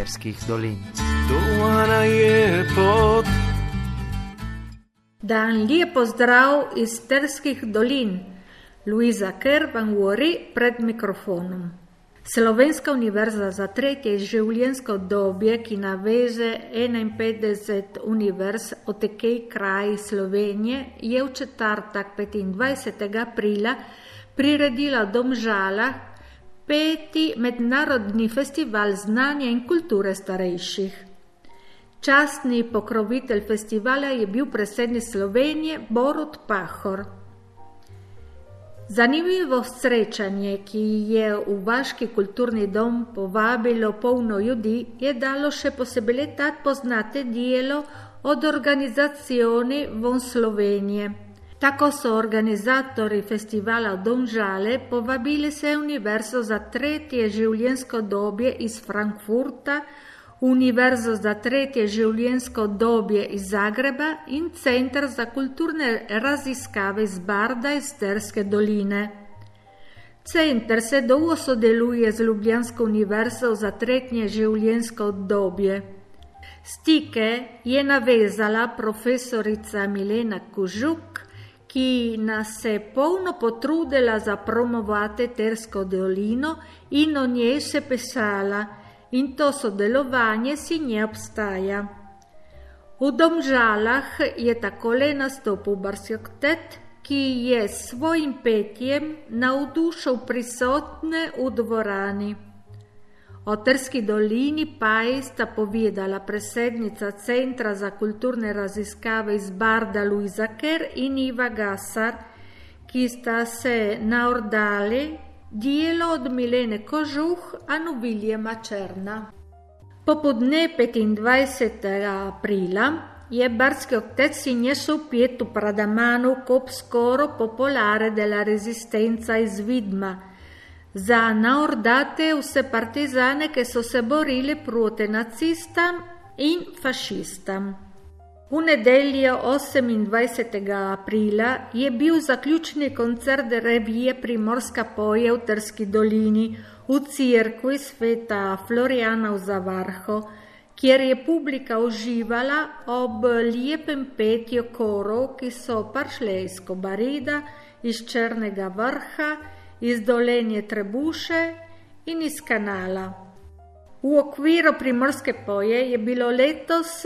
Terskih dolin. Dan lijep pozdrav iz Terskih dolin. Luisa Ker vam govori pred mikrofonom. Slovenska univerza za tretje življenjsko obdobje, ki naveže 51 univerz od tekej kraji Slovenije, je v četrtek 25. aprila priredila v Domžalah 5. mednarodni festival znanja in kulture starejših. Častni pokrovitelj festivala je bil predsednik Slovenije Borut Pahor. Zanimivo srečanje, ki je v Vaški kulturni dom povabilo polno ljudi, je dalo še posebej letat poznate dijelo od organizacioni von Slovenije. Tako so organizatori festivala Domžale povabili se univerzo za tretje življenjsko obdobje iz Frankfurta, Univerzo za tretje življenjsko obdobje iz Zagreba in Centar za kulturne raziskave iz Barda iz Terske doline. Center se dolgo sodeluje z Ljubljansko univerzo za tretje življenjsko obdobje. Stike je navezala profesorica Milena Kužuk, ki nas se polno potrudila za promovati Tersko dolino in o njej se pisala, in to sodelovanje si nje obstaja. V Domžalah je takole nastopil Barsjoktet, ki je s svojim petjem navdušil prisotne v dvorani. O Terski dolini pa sta povedala predsednica Centra za kulturne raziskave iz Barda Luisa Ker in Iva Gasar, ki sta se naordali dijelo od Milene Kožuh anu Viljema Černa. Popodne 25. aprila je Barsjoktet si nesel pietu pradamanu kop skoro popolare della resistenza iz Vidma, za naordate vse partizane, che so se borili proti nacistam in fašistam. V nedeljo 28. aprila je bil zaključni koncert revije Primorska poje v Terski dolini v cerkvi sveta Florijana v Zavarhu, kjer je publika uživala ob lijepem petju korov, ki so prišli iz Kobarida, iz Črnega vrha, iz Dolenje Trebuše in iz Kanala. V okviru Primorske poje je bilo letos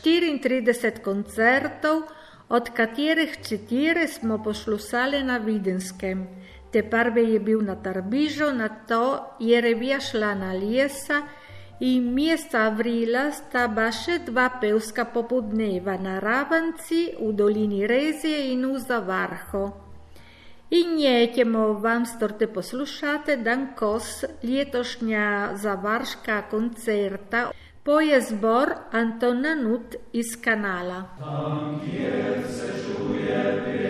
34 koncertov, od katerih 4 smo poslušali na Videnskem. Te prvi je bil na Tarbižu, nato je revija šla na Liesa in mjesta avrila sta ba še 2 pevska popodneva na Ravanci, v dolini Rezije in v Zavarhu. In nećemo vam storte poslušati dan kos letošnja zavarška koncerta poje zbor Antona Nut iz Kanala. Tam, kjer se čuje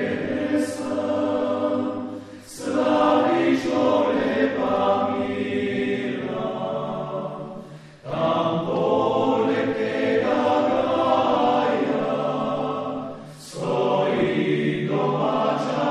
pesem, slaviš o lepa mira, tam poleg tega graja stoji domača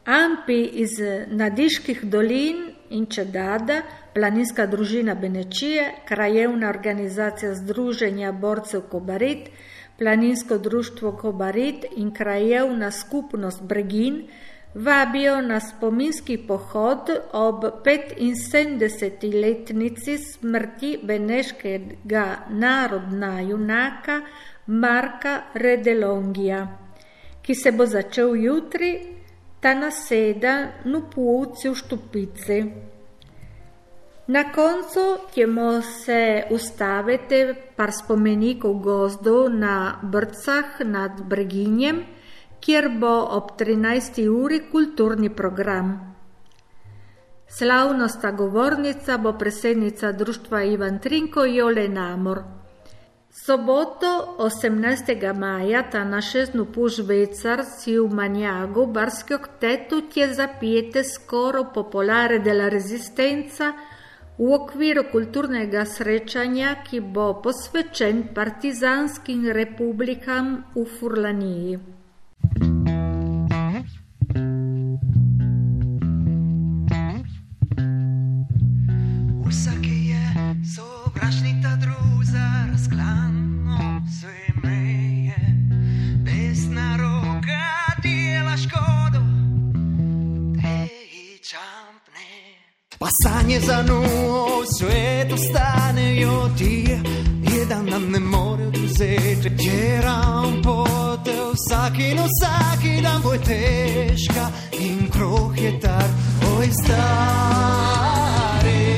Ampi iz Nadiških dolin in Čedada, Planinska družina Benečije, Krajevna organizacija Združenja borcev Kobarid, Planinsko društvo Kobarid in Krajevna skupnost Bregin vabijo na spominski pohod ob 75-letnici smrti beneškega narodna junaka Marka Redelongija, ki se bo začel jutri, ta naseda na Puvci v Štupici. Na koncu ćemo se ustaviti par spomenikov gozdov na Brcah nad Breginjem, kjer bo ob 13. uri kulturni program. Slavnostna govornica bo predsednica društva Ivan Trinko Jole Namor. Soboto 18. maja ta na 6 po Švecar si v Manjagu Barskog tetu tje zapijete skoro popolare della Resistenza v okviru kulturnega srečanja, ki bo posvečen partizanskim republikam v Furlaniji. Vsaki je sovražnik ta druza, razklano se meje, desna roka dela škodo, te čampne. Pa sanje za njo svet ostanejo ti, jedan nam ne more oduzeti, jeram pote vsaki dan bo težka in kruh je tar, oj stari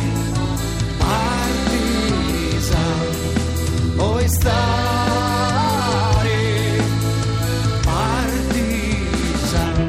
partizan, oj stari partizan.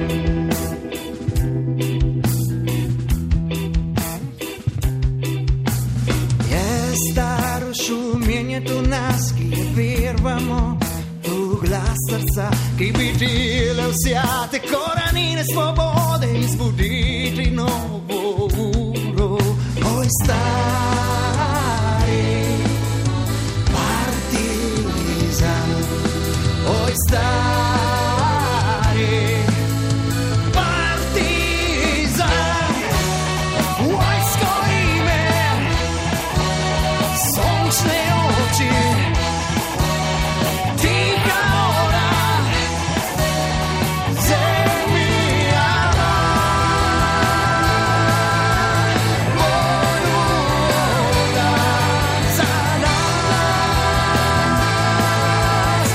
Je staro šumenje tu nas, ki je vervamo v glas srca, ki bi dile vsjate korenine svobode in zbuditi novo uro. Oj stari partizan, oj stari partizan, vojsko ime, sončne oči, tiha ora, zemlja voda za nas,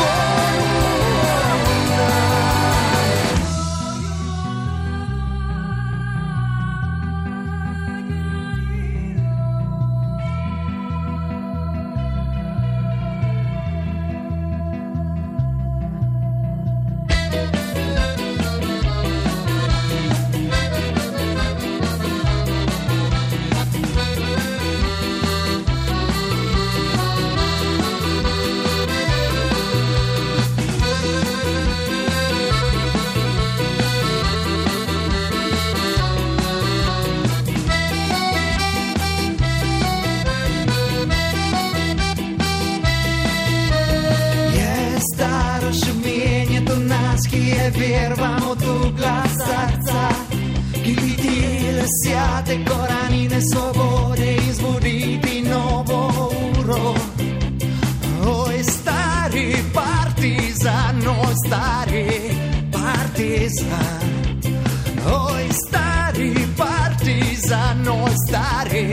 vervamo tu glas srca, ki bi dile sjate korenine svobode in zbuditi novo uro. Oj stari partizan, oj stari partizan, oj stari partizan, oj stari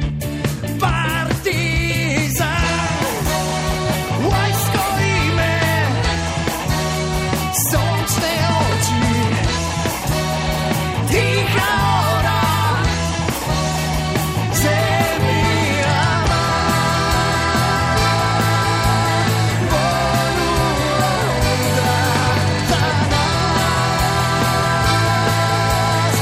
partizan. Vojsko ime, sončne oči, tiha ora, zemlja voda za nas,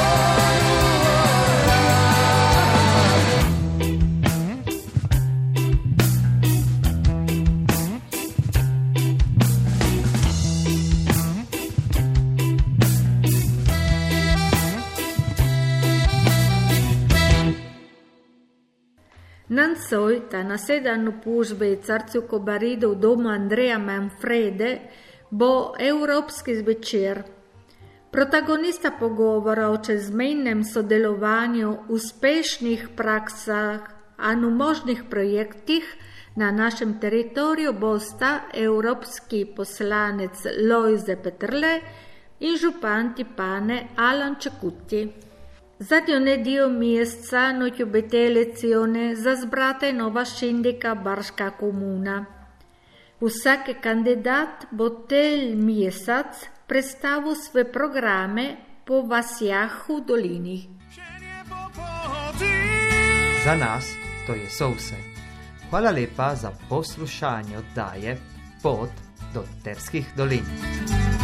Nansoj, ta nasedanu pužbe i carcu Kobaridov domu Andreja Manfrede, bo evropski zvečer. Protagonista pogovora o čezmejnem sodelovanju, uspešnih praksah in možnih projektih na našem teritoriju bosta evropski poslanec Lojze Peterle in župan Tipane Alan Čekuti. Zadnjo nedeljo mjeseca notjubite lezione zazbrata nova scindika Barška komuna. Vsak kandidat bo tel mjesac predstavil svoje programe po vasjah v dolini. Za nas to je vse. Hvala lepa za poslušanje oddaje Pot do Terskih dolin.